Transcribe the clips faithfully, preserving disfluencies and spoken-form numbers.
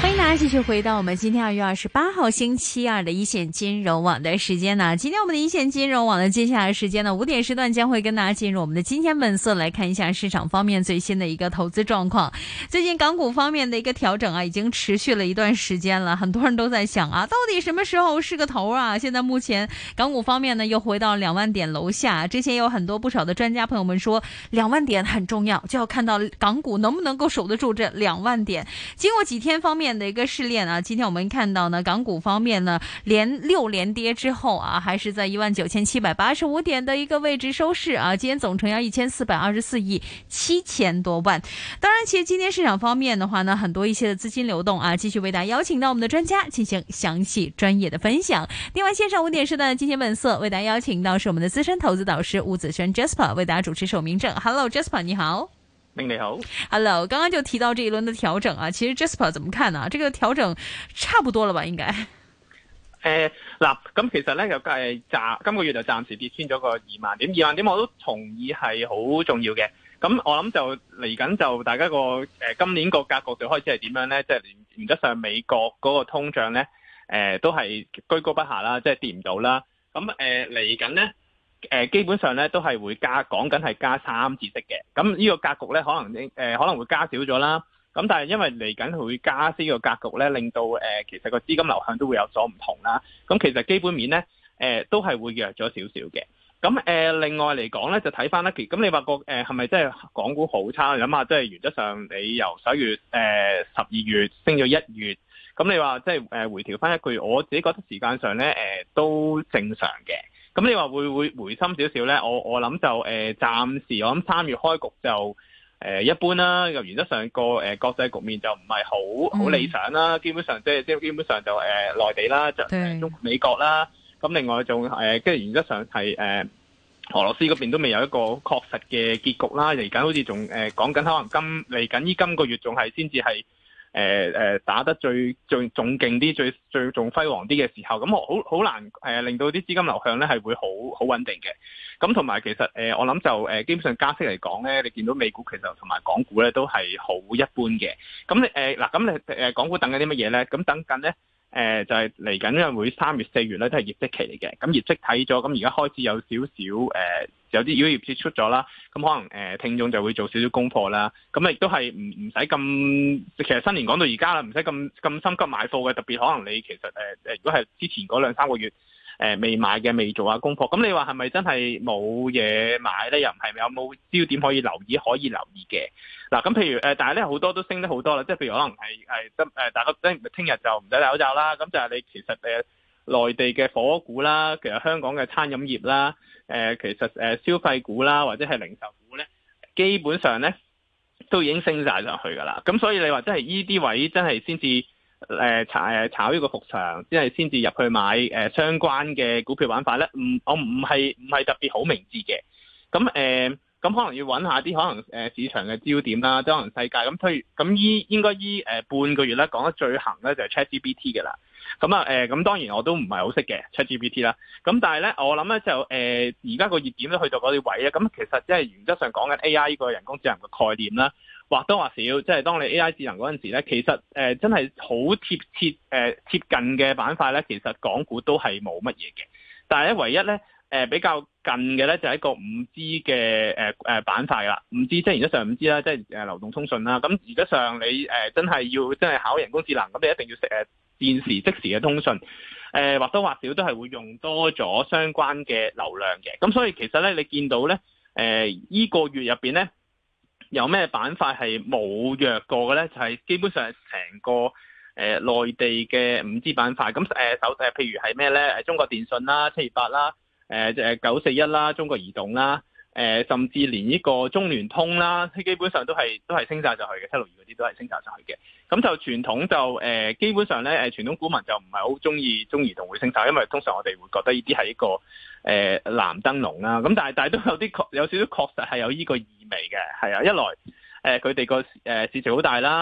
欢迎大家继续回到我们今天二月二十八号星期二的一线金融网的时间呢。今天我们的一线金融网的接下来时间呢，五点时段将会跟大家进入我们的今天本色，来看一下市场方面最新的一个投资状况。最近港股方面的一个调整啊，已经持续了一段时间了，很多人都在想啊，到底什么时候是个头啊？现在目前港股方面呢，又回到两万点楼下。之前有很多不少的专家朋友们说，两万点很重要，就要看到港股能不能够守得住这两万点。经过几天方面的一个试炼啊，今天我们看到呢，港股方面呢，连六连跌之后啊，还是在一万九千七百八十五点的一个位置收市啊。今天总成交一千四百二十四亿七千多万。当然，其实今天市场方面的话呢，很多一些的资金流动啊，继续为大家邀请到我们的专家进行详细专业的分享。另外，线上五点时段的金钱本色为大家邀请到是我们的资深投资导师吴子轩 Jasper 为大家主持守明正。Hello Jasper， 你好。 明你好 ，Hello， 刚刚就提到这一轮的調整啊，其實 Jasper 怎麼看呢？這個調整差不多了吧？應該。 誒嗱，咁其實咧又誒暫今個月就暫時跌穿咗個二萬點，二萬點我都同意係好重要嘅。咁我諗就嚟緊就大家個誒、呃、今年個格局就開始係點樣咧？即係原則上美國嗰個通脹咧誒、呃、都係居高不下啦，即係跌唔到啦。咁誒嚟緊咧。誒、呃、基本上咧都係會加，講緊係加三次息嘅。咁呢個格局咧可能誒、呃、可能會加少咗啦。咁但係因為嚟緊會加息個格局咧，令到誒、呃、其實個資金流向都會有所唔同啦。咁其實基本面咧誒、呃、都係會弱咗少少嘅。咁誒、呃、另外嚟講咧就睇翻咧，其咁你話個誒係咪真係港股好差？你諗下，即係原則上你由十一月誒十二月升咗一月，咁你話即係誒回調翻一個月，我自己覺得時間上咧誒、呃、都正常嘅。咁你話會會回深少少咧？我我諗就誒、呃、暫時我諗三月開局就誒、呃、一般啦。又原則上個誒、呃、國際局面就唔係好好理想啦。嗯、基本上即係即係基本上就誒、呃、內地啦，就中美國啦。咁另外就誒跟住原則上係誒、呃、俄羅斯嗰邊都未有一個確實嘅結局啦。嚟緊好似仲誒講緊可能今嚟緊呢今個月仲係先至係。誒誒、呃、打得最最仲勁啲，最最仲輝煌啲嘅時候，咁我好好難誒、呃、令到啲資金流向咧係會好好穩定嘅。咁同埋其實誒、呃、我諗就誒、呃、基本上加息嚟講咧，你見到美股其實同埋港股咧都係好一般嘅。咁你誒嗱咁你誒港股等緊啲乜嘢咧？咁等緊咧誒就係嚟緊因為會三月四月咧都係業績期嚟嘅。咁業績睇咗，咁而家開始有少少誒。呃有啲如果業績出咗啦，咁可能誒、呃、聽眾就會做少少功課啦。咁亦都係唔唔使咁，其實新年講到而家啦，唔使咁咁心急買貨嘅。特別可能你其實誒誒、呃，如果係之前嗰兩三個月誒、呃、未買嘅，未做下功課，咁你話係咪真係冇嘢買咧？又唔係有冇焦點可以留意可以留意嘅？嗱，咁譬如誒、呃，但係咧好多都升得好多啦，即係譬如可能係係得誒，大家聽聽日就唔使戴口罩啦。咁就係你其實誒。呃內地嘅火鍋股啦，其實香港嘅餐飲業啦，誒、呃、其實誒消費股啦，或者係零售股咧，基本上咧都已經升晒上去㗎啦。咁所以你話真係依啲位真係先至誒炒誒炒呢個復場，即係先至入去買誒、呃、相關嘅股票玩法咧。唔，我唔係唔係特別好明智嘅。咁誒咁可能要揾下啲可能誒市場嘅焦點啦，即可能世界咁推咁依應該依誒、呃、半個月咧講得最行咧就係 ChatGPT 嘅啦。咁啊誒，咁、呃、當然我都唔係好識嘅 ChatGPT 啦。咁但係咧，我諗咧就誒，而家個熱點都去到嗰啲位咧。咁其實即係原則上講緊 A I 呢個人工智能嘅概念啦，或多或少，即係當你 A I 智能嗰陣時咧，其實誒、呃、真係好貼切誒、呃、貼近嘅板塊咧，其實港股都係冇乜嘢嘅。但係咧，唯一咧誒、呃、比較近嘅咧就係一個五 G 嘅誒誒板塊啦。五 G 即係原則上五 G 啦，即係誒流動通訊啦。咁原則上你誒、呃、真係要真係考人工智能，咁你一定要識誒。呃現時即時嘅通訊，誒、呃、或多或少都係會用多咗相關嘅流量嘅，咁所以其實咧，你見到咧，誒、呃、依、這個月入邊咧，有咩板塊係冇弱過嘅咧？就係、是、基本上係成個誒、呃、內地嘅五 G 板塊，咁誒首誒譬如係咩咧？誒中國電信啦、七二八啦、誒誒九四一啦、中國移動啦。誒、呃，甚至連呢個中聯通啦，基本上都係都係升晒上去嘅，七六二嗰啲都係升晒上去嘅。咁就傳統就誒、呃，基本上咧誒，傳統股民就唔係好中意中移動會升晒，因為通常我哋會覺得呢啲係一個誒、呃、藍燈籠啦。咁但係但係都有啲確有少少確實係有呢個意味嘅，係啊，一來誒佢哋個誒市值好大啦。誒、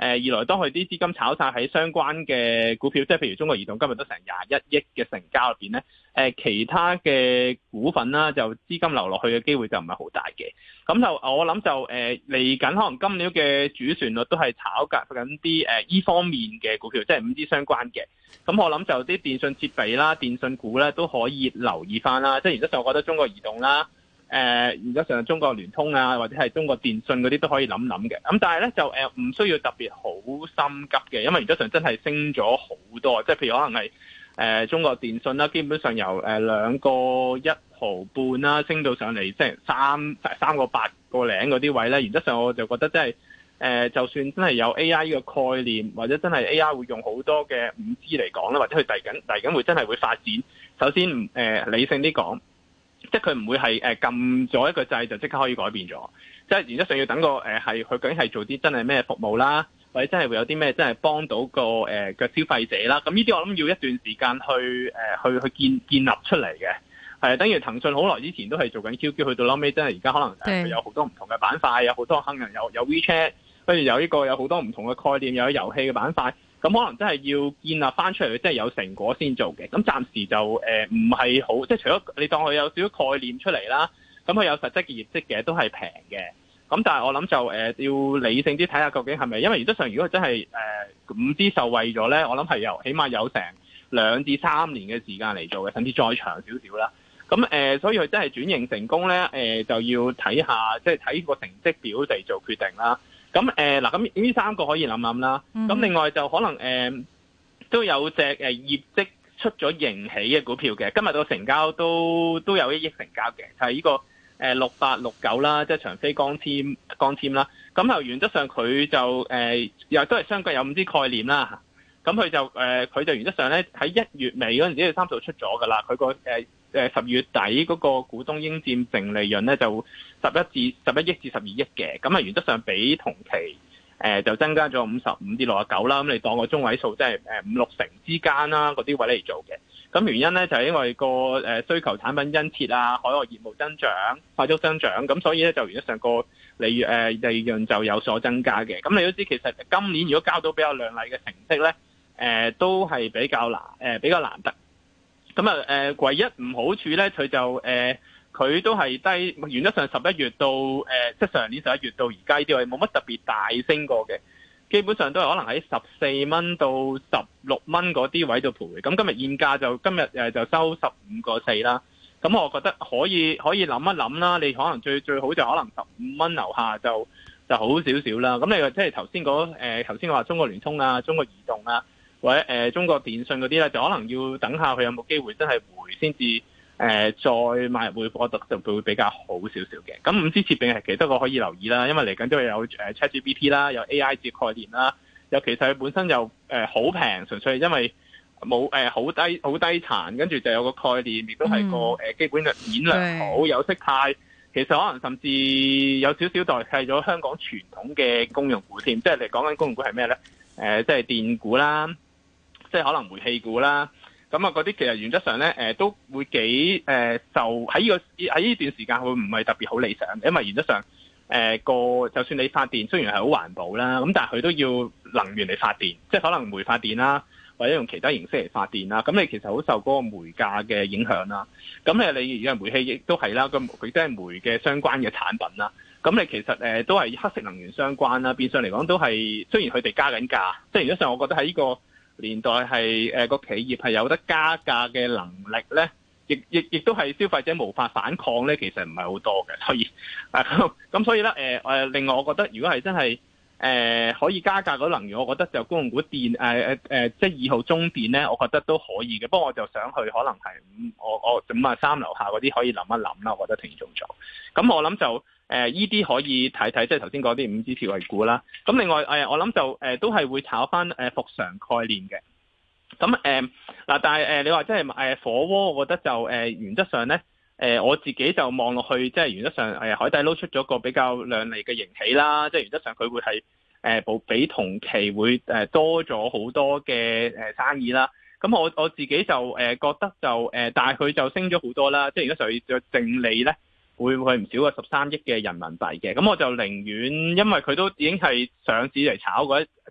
二來當佢啲資金炒晒喺相關嘅股票，即係譬如中國移動今日都成廿一億嘅成交入邊咧，誒其他嘅股份啦，就資金流落去嘅機會就唔係好大嘅。咁就我諗就誒嚟緊，可能今年嘅主旋律都係炒緊啲誒依方面嘅股票，即係五 G 相關嘅。咁我諗就啲電信設備啦、電信股咧都可以留意翻啦。即係原則上，我覺得中國移動啦。誒、呃，原則上中國聯通啊，或者係中國電信嗰啲都可以諗諗嘅。咁但係咧就誒唔、呃、需要特別好心急嘅，因為原則上真係升咗好多。即係譬如可能係誒、呃、中國電信啦，基本上由誒兩個一毫半啦，升到上嚟即係三三個八個零嗰啲位咧。原則上我就覺得真係誒，就算真係有 A I 呢個概念，或者真係 A I 會用好多嘅五 G 嚟講啦，或者佢遞緊遞緊會真係會發展。首先誒、呃、理性啲講。即係佢唔會係誒撳咗一個掣就即刻可以改變咗，即係原則上要等個誒係佢究竟係做啲真係咩服務啦，或者真係會有啲咩真係幫到個誒嘅消費者啦。咁呢啲我諗要一段時間去誒、呃、去去建建立出嚟嘅，係等於騰訊好耐之前都係做緊 Q Q， 去到後尾真係而家可能佢有好多唔同嘅板塊，有好多可能有有 WeChat， 跟住有呢個有好多唔同嘅概念，有遊戲嘅板塊。咁可能真係要建立翻出嚟，即係有成果先做嘅。咁暫時就誒唔係好，即係除咗你當佢有少少概念出嚟啦，咁佢有實質嘅業績嘅都係平嘅。咁但係我諗就誒、呃、要理性啲睇下究竟係咪，因為原則上如果真係誒五 G 受惠咗咧，我諗係有起碼有成兩至三年嘅時間嚟做嘅，甚至再長少少啦。咁誒、呃，所以佢真係轉型成功咧，誒、呃、就要睇下，即係睇個成績表嚟做決定啦。咁誒嗱，咁、呃、呢三個可以諗諗啦。咁、mm-hmm. 另外就可能誒、呃、都有隻誒業績出咗盈喜嘅股票嘅，今日個成交都都有一億成交嘅，就係、是、呢個誒六八六九啦，即係長飛光纖光纖啦。咁就原則上佢就誒、呃、又都係相關有五 G 概念啦。咁佢就誒佢、呃、就原則上咧喺一月尾嗰陣時，佢三數出咗㗎啦。佢個誒誒十月底嗰個股東應佔淨利潤咧就十一至十一億至十二億嘅，咁啊原則上比同期誒、呃、就增加咗五十五至六十九啦。咁你當個中位數即係誒五六成之間啦，嗰啲位嚟做嘅。咁原因咧就係、是、因為個誒需求產品殷切啊，海外業務增長快速增長，咁所以咧就原則上個利誒利潤就有所增加嘅。咁你都知其實今年如果交到比較亮麗嘅成績咧，誒、呃、都係比較難誒、呃、比較難得。咁啊誒唯一唔好處咧，佢就誒佢、呃、都係低，原則上十一月到誒、呃、即係上年十一月到而家呢啲位冇乜特別大升過嘅，基本上都係可能喺十四蚊到十六蚊嗰啲位度徘徊。咁今日現價就今日誒就收十五個四啦。咁我覺得可以可以諗一諗啦。你可能最最好就可能十五蚊樓下就就好少少啦。咁你話即係頭先嗰誒頭先我話中國聯通啊、中國移動啊，或者誒、呃、中國電信嗰啲咧，就可能要等下佢有冇機會真係回先至誒再買入會貨，就會比較好少少嘅。咁五 G 設備係其他個可以留意啦，因為嚟緊都有誒 ChatGPT 啦，有 A I 嘅概念啦，又其實佢本身又誒好平，純粹係因為冇誒好低好低殘，跟住就有個概念，亦都係個誒基本嘅面量好，有息派。其實可能甚至有少少代替咗香港傳統嘅公用股添，即係你講緊公用股係咩咧？誒、呃，即係電股啦，即係可能煤氣股啦。咁啊，嗰啲其實原則上咧，誒、呃、都會幾誒、呃，就喺呢、這個喺呢段時間會唔係特別好理想，因為原則上誒個、呃、就算你發電雖然係好環保啦，咁但係佢都要能源嚟發電，即係可能煤發電啦。或者用其他形式嚟發電啦，咁你其實好受嗰個煤價嘅影響啦。咁誒，你而家煤氣亦都係啦，咁佢都係煤嘅相關嘅產品啦。咁你其實誒都係黑色能源相關啦，變相嚟講都係雖然佢哋加緊價，即係原則上我覺得喺呢個年代係誒個企業係有得加價嘅能力咧，亦亦亦都係消費者無法反抗咧，其實唔係好多嘅。所以誒咁所以咧誒誒，另外我覺得如果係真係，誒、呃、可以加價嗰能源，我覺得就公用股電誒誒誒，即係二號中電咧，我覺得都可以嘅。不過我就想去可能係五，我我五啊三樓下嗰啲可以諗一諗啦。我覺得挺重做。咁我諗就誒依啲可以睇睇，即係頭先講啲五 G 設備股啦。咁另外誒、呃，我諗就誒、呃、都係會炒翻誒復常概念嘅。咁誒嗱，但係誒、呃、你話即係誒火鍋，我覺得就誒、呃、原則上咧。誒、呃、我自己就望落去，即係原則上誒海底撈出咗個比較亮麗嘅盈喜啦，即係原則上佢會係誒部比同期會誒多咗好多嘅誒生意啦。咁我我自己就誒覺得就誒，但係佢就升咗好多啦，即係原則上嘅淨利咧會會唔少過十三億嘅人民幣嘅。咁我就寧願，因為佢都已經係上市嚟炒嗰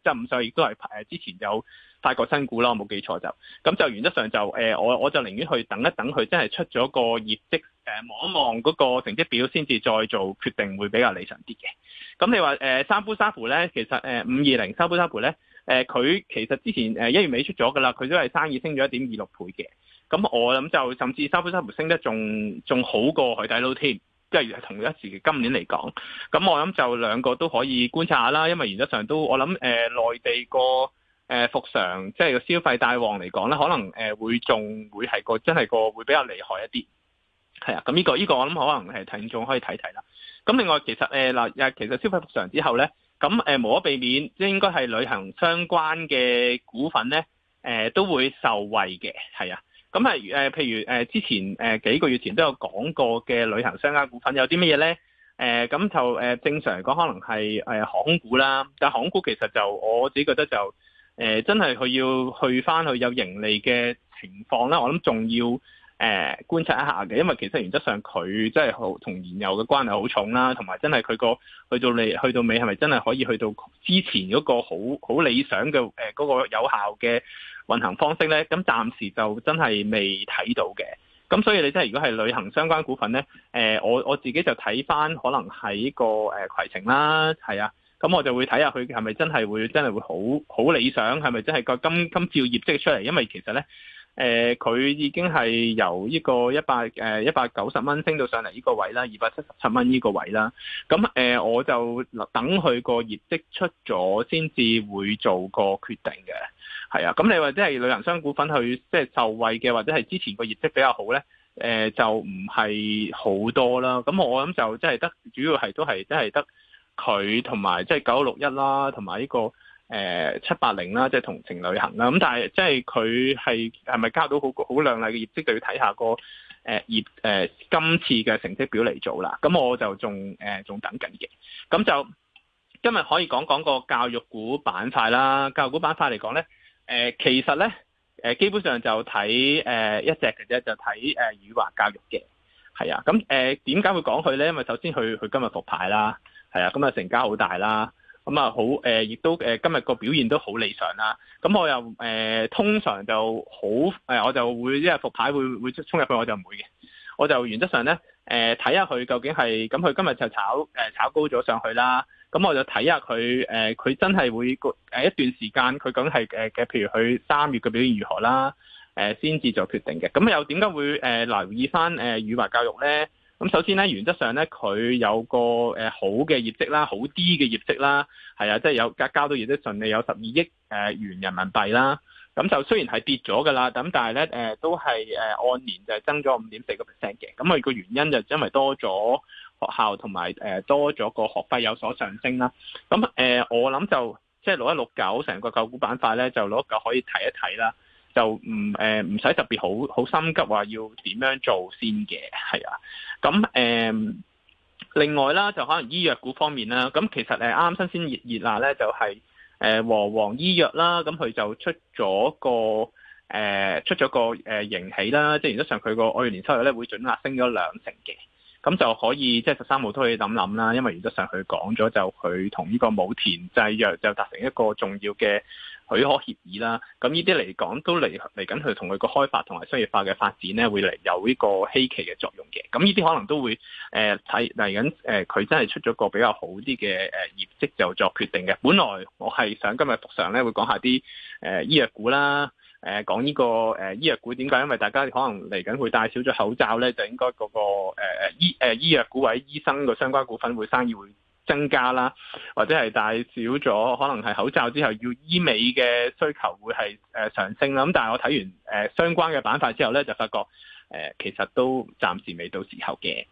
即係五十亦都係誒之前有發過新股啦，我冇記錯就，咁就原則上就誒、呃、我我就寧願去等一等佢真係出咗個業績，誒望一望嗰個成績表先至再做決定，會比較理想啲嘅。咁你話誒三夫三婦咧，其實誒五二零三夫三婦咧，誒佢其實之前誒一月尾出咗噶啦，佢都係生意升咗一點二六倍嘅。咁我諗就甚至三夫三婦升得仲仲好過海底撈添。即係同一時期今年嚟講，咁我諗就兩個都可以觀察下啦，因為原則上都我諗誒、呃、內地個誒復常，即係個消費大旺嚟講咧，可能誒、呃、會仲會係個真係個會比較厲害一啲，係啊，咁呢、這個呢、這個我諗可能係聽眾可以睇睇啦。咁另外其實誒嗱、呃，其實消費復常之後咧，咁誒、呃、無可避免，即係應該係旅行相關嘅股份咧，誒、呃、都會受惠嘅，係啊。咁係誒，譬如誒之前誒幾個月前都有講過嘅旅行相關股份有啲乜嘢咧？誒、呃、咁就誒正常嚟講，可能係誒航空股啦。但係航空股其實就我自己覺得就誒、呃、真係佢要去翻去有盈利嘅情況啦。我諗仲要誒、呃、觀察一下嘅，因為其實原則上佢真係好同燃油嘅關係好重啦，同埋真係佢個去到尾去到尾係咪真係可以去到之前嗰個好好理想嘅誒嗰個有效嘅運行方式咧，咁暫時就真係未睇到嘅。咁所以你真係如果係旅行相關股份咧，誒、呃、我我自己就睇翻可能喺個誒攜程啦，係啊，咁我就會睇下佢係咪真係會真係會好好理想，係咪真係個今今朝業績出嚟？因為其實咧，誒、呃、佢已經係由呢個一百誒一百九十蚊升到上嚟呢個位啦，二百七十七蚊呢個位啦。咁誒、呃、我就等佢個業績出咗先至會做個決定嘅。係啊，咁你或者係旅行商股份去即係受惠嘅，或者係之前個業績比較好咧，誒、呃、就唔係好多啦。咁我諗就即係得主要係都係即係得佢同埋即係九六一啦，同埋呢個誒七八零啦，即係同程旅行啦。咁但係即係佢係係咪交到好好亮麗嘅業績，就要睇下個誒業誒今次嘅成績表嚟做啦。咁我就仲誒仲等緊嘅。咁就今日可以講講個教育股板塊啦。教育股板塊嚟講咧。誒、呃、其實咧，誒、呃、基本上就睇誒、呃、一隻嘅啫，就睇誒宇華教育嘅，係啊。咁誒點解會講佢咧？因為首先佢佢今日復牌啦，係啊，咁啊成交好大啦，咁啊好誒，亦、呃、都誒、呃、今日個表現都好理想啦。咁我又誒、呃、通常就好誒、呃，我就會因為復牌會會衝入去，我就唔會嘅。我就原則上咧誒睇下佢究竟係咁，佢今日就炒誒、呃、炒高咗上去啦。咁我就睇下佢誒，佢、呃、真係會誒一段時間，佢究竟係誒嘅，譬如佢三月嘅表現如何啦，誒先至做決定嘅。咁又點解會誒、呃、留意翻誒宇華教育咧？咁首先咧，原則上咧，佢有個誒、呃、好嘅業績啦，好啲嘅業績啦，係啊，即係有交交到業績順利，有十二億誒元人民幣啦。咁就雖然係跌咗㗎啦，咁但係咧誒都係誒按年就係增咗五點四個 percent 嘅。咁佢個原因就因為多咗學校同埋誒多咗個學費有所上升啦。咁誒、呃、我諗就即係六一六九成個舊股板塊咧，就六一九可以睇一睇啦。就唔誒唔使特別好好心急話要點樣做先嘅，係啊。咁誒、呃、另外啦，就可能醫藥股方面啦。咁其實誒啱啱新鮮熱熱辣咧就係、是。誒和黃醫藥啦，咁佢就出咗個誒、呃、出咗個誒盈喜啦，即係原則上佢個按年收入咧會準額升咗兩成嘅，咁就可以即係十三號都可以諗諗啦，因為原則上佢講咗就佢同呢個武田製藥就達成一個重要嘅許可協議啦，咁呢啲嚟講都嚟嚟緊佢同佢個開發同埋商業化嘅發展咧，會嚟有呢個希期嘅作用嘅。咁呢啲可能都會誒睇嚟緊誒，佢、呃、真係出咗個比較好啲嘅誒業績就作決定嘅。本來我係想今日復常咧會講下啲誒、呃、醫藥股啦，誒、呃、講呢、這個誒、呃、醫藥股點解？因為大家可能嚟緊會戴少咗口罩咧，就應該嗰、那個誒誒、呃、醫誒、呃、醫藥股或者醫生嘅相關股份會生意會增加啦，或者係戴少咗，可能係口罩之後要醫美嘅需求會係誒上升啦。咁但係我睇完誒、呃、相關嘅板塊之後咧，就發覺誒、呃、其實都暫時未到時候嘅。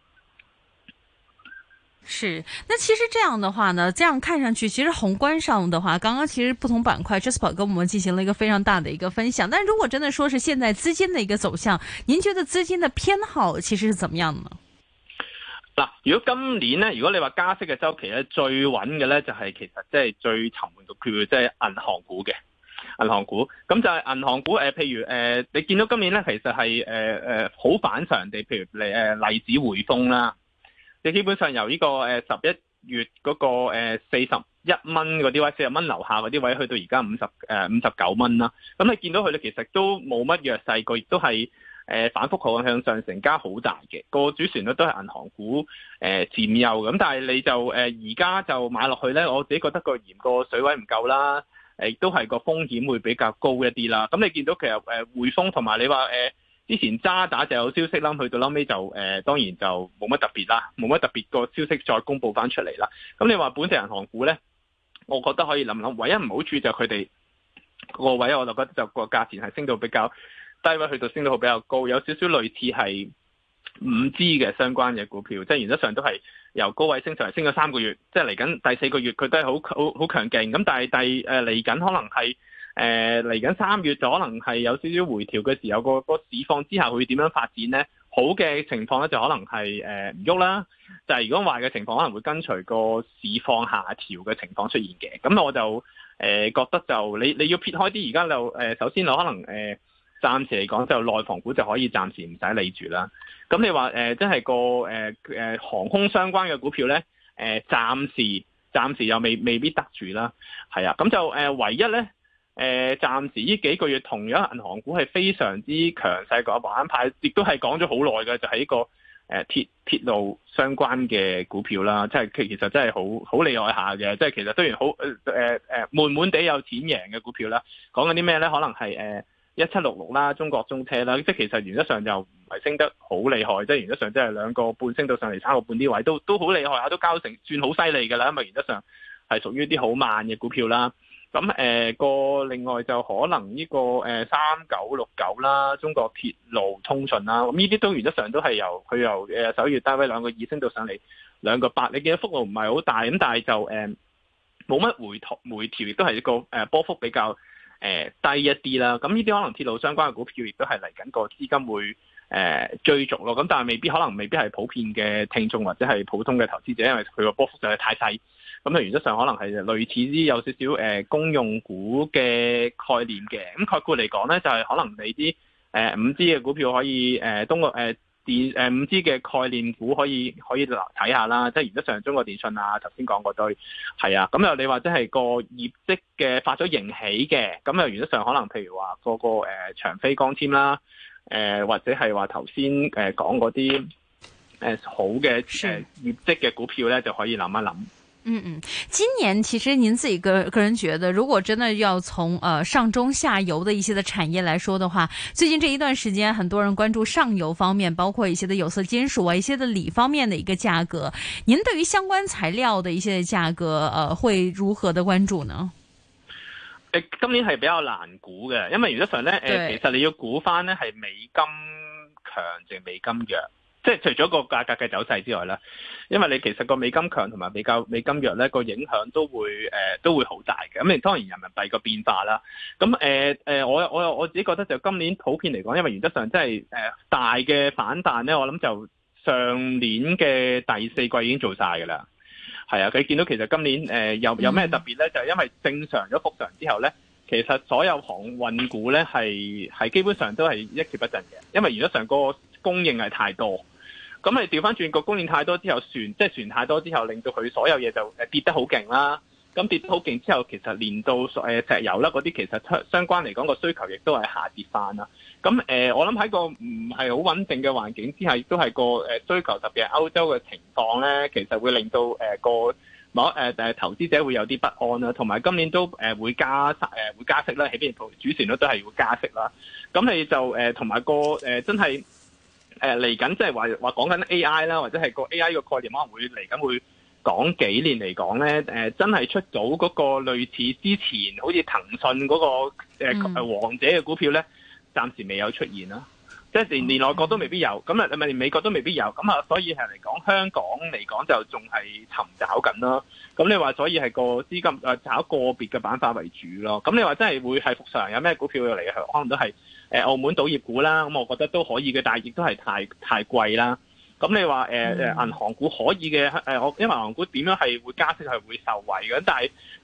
是，那其實這樣的話呢，這樣看上去，其實宏觀上的話，剛剛其實不同板塊 Jasper 跟我們進行了一個非常大的一個分享。但如果真的說是現在資金的一個走向，您覺得資金的偏好其實是怎麼樣呢？ 嗱，如果今年咧，如果你話加息嘅周期咧，最穩嘅咧就係、是、其實即係最沉悶嘅票，即係銀行股嘅銀行股。咁就係銀行股誒、呃，譬如誒、呃，你見到今年咧，其實係誒誒好反常地，譬如嚟誒例子匯豐啦，你基本上由呢個誒十一月嗰個誒四十一蚊嗰啲位，四十蚊樓下嗰啲位，去到而家五十誒五十九蚊啦。咁你見到佢咧，其實都冇乜弱勢，個亦都係誒反覆好向上，成交好大嘅，個主旋律都係銀行股誒佔優咁。但係你就誒而家就買落去咧，我自己覺得個鹽個水位唔夠啦，誒亦都係個風險會比較高一啲啦。咁你見到其實誒匯豐同埋你話誒。呃之前渣打就有消息啦，去到後尾就誒、呃、當然就冇乜特別啦，冇乜特別個消息再公布翻出嚟啦。咁你話本地銀行股咧，我覺得可以諗諗，唯一唔好處就佢哋個位，我就覺得就個價錢係升到比較低位，去到升到比較高，有少少類似係五 G 嘅相關嘅股票，即係原則上都係由高位升上嚟，升咗三個月，即係嚟緊第四個月佢都係好好好強勁。咁但係第誒嚟緊可能係。誒嚟緊三月就可能係有少少回調嘅時候，個個市況之下會點樣發展呢？好嘅情況咧就可能係誒唔喐啦，就係、是、如果壞嘅情況可能會跟隨個市況下調嘅情況出現嘅。咁我就誒、呃、覺得就你你要撇開啲，而家就誒、呃、首先我可能誒、呃、暫時嚟講就內房股就可以暫時唔使理住啦。咁你話誒即係個誒誒、呃、航空相關嘅股票咧，誒、呃、暫時暫時又未未必得住啦。係啊，咁就誒、呃、唯一咧。誒、呃，暫時呢幾個月同樣銀行股係非常之強勢個板塊，亦都係講咗好耐嘅，就係、是、一個誒鐵鐵路相關嘅股票啦，即係其其實真係好好厲害下嘅，即係其實雖然好誒誒誒悶悶地有錢贏嘅股票啦，講緊啲咩咧？可能係誒一七六六啦，中國中車啦，即係其實原則上就唔係升得好厲害，即係原則上即係兩個半升到上嚟三個半啲位，都都好厲害下，都交成算好犀利㗎啦，因為原則上係屬於啲好慢嘅股票啦。咁誒個另外就可能呢個誒三九六九啦，中國鐵路通訊啦，咁呢啲都原則上都係由佢由誒首月單位兩個二升到上嚟兩個八，你見到幅度唔係好大，咁但係就誒冇乜回調，回調亦都係一個誒波幅比較誒低一啲啦。咁呢啲可能鐵路相關嘅股票亦都係嚟緊個資金會誒追逐咯。咁但係未必可能未必係普遍嘅聽眾或者係普通嘅投資者，因為佢個波幅就係太細。咁啊，原則上可能係類似啲有少少誒公用股嘅概念嘅，咁概括嚟講咧，就係、是、可能你啲誒五 G 嘅股票可以誒東國誒電誒五 G 嘅概念股可以可以睇下啦，即係原則上中國電信啊，頭先講嗰堆係啊，咁又你話即係個業績嘅發咗盈喜嘅，咁又原則上可能譬如話個個誒長飛光纖啦，誒、呃、或者係話頭先誒講嗰啲誒好嘅誒業績嘅股票咧，就可以諗一諗。 嗯嗯，今年其實您自己個個人覺得，如果真的要從呃上中下游的一些的產業來說的話，最近這一段時間，很多人關注上游方面，包括一些的有色金屬啊，一些的鋰方面的一個價格。您對於相關材料的一些價格，呃，會如何的關注呢？ 誒，今年係比較難估嘅，因為原則上咧，誒、呃，其實你要估翻咧係美金強定美金弱。即係除咗個價格嘅走勢之外啦，因為你其實個美金強同埋美較美金弱咧，個影響都會誒、呃、都會好大嘅。咁你當然人民幣個變化啦。咁誒誒，我我我自己覺得就今年普遍嚟講，因為原則上真係誒大嘅反彈咧，我諗就上年嘅第四季已經做晒㗎啦。係啊，佢見到其實今年誒、呃、有有咩特別咧？就係、是、因為正常咗復常之後咧，其實所有航運股咧係係基本上都係一蹶不振嘅，因為原則上個供應係太多。咁你調翻轉個供應太多之後，船即係船太多之後，令到佢所有嘢就誒跌得好勁啦。咁跌得好勁之後，其實連到誒石油啦嗰啲，其實相相關嚟講個需求亦都係下跌翻啦。咁誒、呃，我諗喺個唔係好穩定嘅環境之下，亦都係個誒需求，特別係歐洲嘅情況咧，其實會令到誒個某誒誒投資者會有啲不安啦。同埋今年都誒會加誒會加息啦，起邊主旋律都係會加息啦。咁你就誒同埋個誒真係。誒嚟緊即係話話講緊 A I 啦，或者係個 A I 個概念可能會嚟緊會講幾年嚟講咧，誒、呃、真係出到嗰個類似之前好似騰訊嗰、那個誒、呃、王者嘅股票咧，暫時未有出現啦。即係連連內國都未必有，咁啊唔係連美國都未必有，咁啊所以係嚟講香港嚟講就仲係尋找緊咯。咁你話所以係個資金誒炒個別嘅板塊為主咯。咁你話真係會係復常有咩股票要嚟嘅？可能都係。誒澳門賭業股啦，咁我覺得都可以嘅，但係亦都係太太貴啦。咁你話誒誒銀行股可以嘅，誒我因為銀行股點樣係會加息係會受惠嘅，但係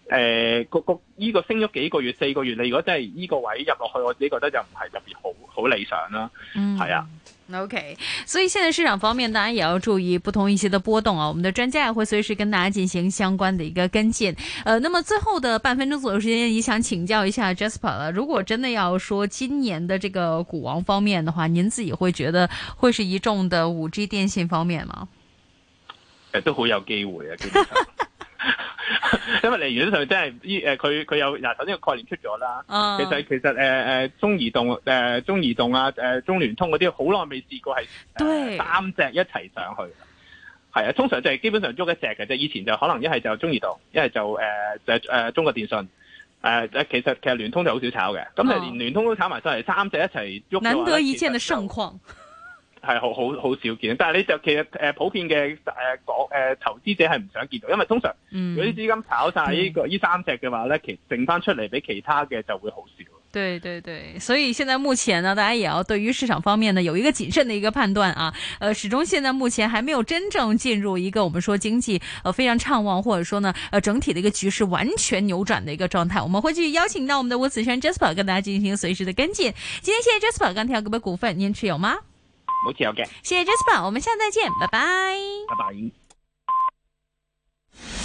誒個個依個升咗幾個月四個月，你如果真係依個位入落去，我自己覺得就唔係特別好好理想啦。嗯，係啊。 OK， 所以現在市場方面，當然也要注意不同一些的波動啊。我們的專家也會隨時跟大家進行相關的一個跟進。呃，那麼最後的半分鐘左右時間，也想請教一下 Jasper 了。如果真的要說今年的這個股王方面的話，您自己會覺得會是一眾的五 G 電信方面嗎？ 誒，都好有機會啊，基本上。因為嚟源上真係依誒佢佢有嗱，首先個概念出咗啦。Uh, 其實其實誒誒、呃、中移動誒、呃、中移動啊誒、呃、中聯通嗰啲好耐未試過係、呃、三隻一齊上去。係啊，通常就係基本上喐一隻嘅啫。以前就可能一係就中移動，一係就誒誒誒中國電信。誒、呃、誒其實其實聯通就好少炒嘅。咁就連聯通都炒埋上嚟，三隻一齊喐。 難得一見嘅盛況。 係好好好少見，但係你就其實誒普遍嘅誒講誒投資者係唔想見到，因為通常如果啲資金炒晒呢個呢三隻嘅話咧，其剩翻出嚟俾其他嘅就會好少。 對對對，所以現在目前呢，大家也要對於市場方面呢有一個謹慎的一個判斷啊。呃，始終現在目前還沒有真正進入一個我們說經濟呃非常暢旺，或者說呢呃整體的一個局勢完全扭轉的一個狀態。我們會繼續邀請到我們的吳子軒 Jasper 跟大家進行隨時的跟進。今天謝謝 Jasper，鋼鐵股份股份您持有嗎？ 冇持有嘅。 謝謝 Jasper，我們下次再見，拜拜。 拜拜。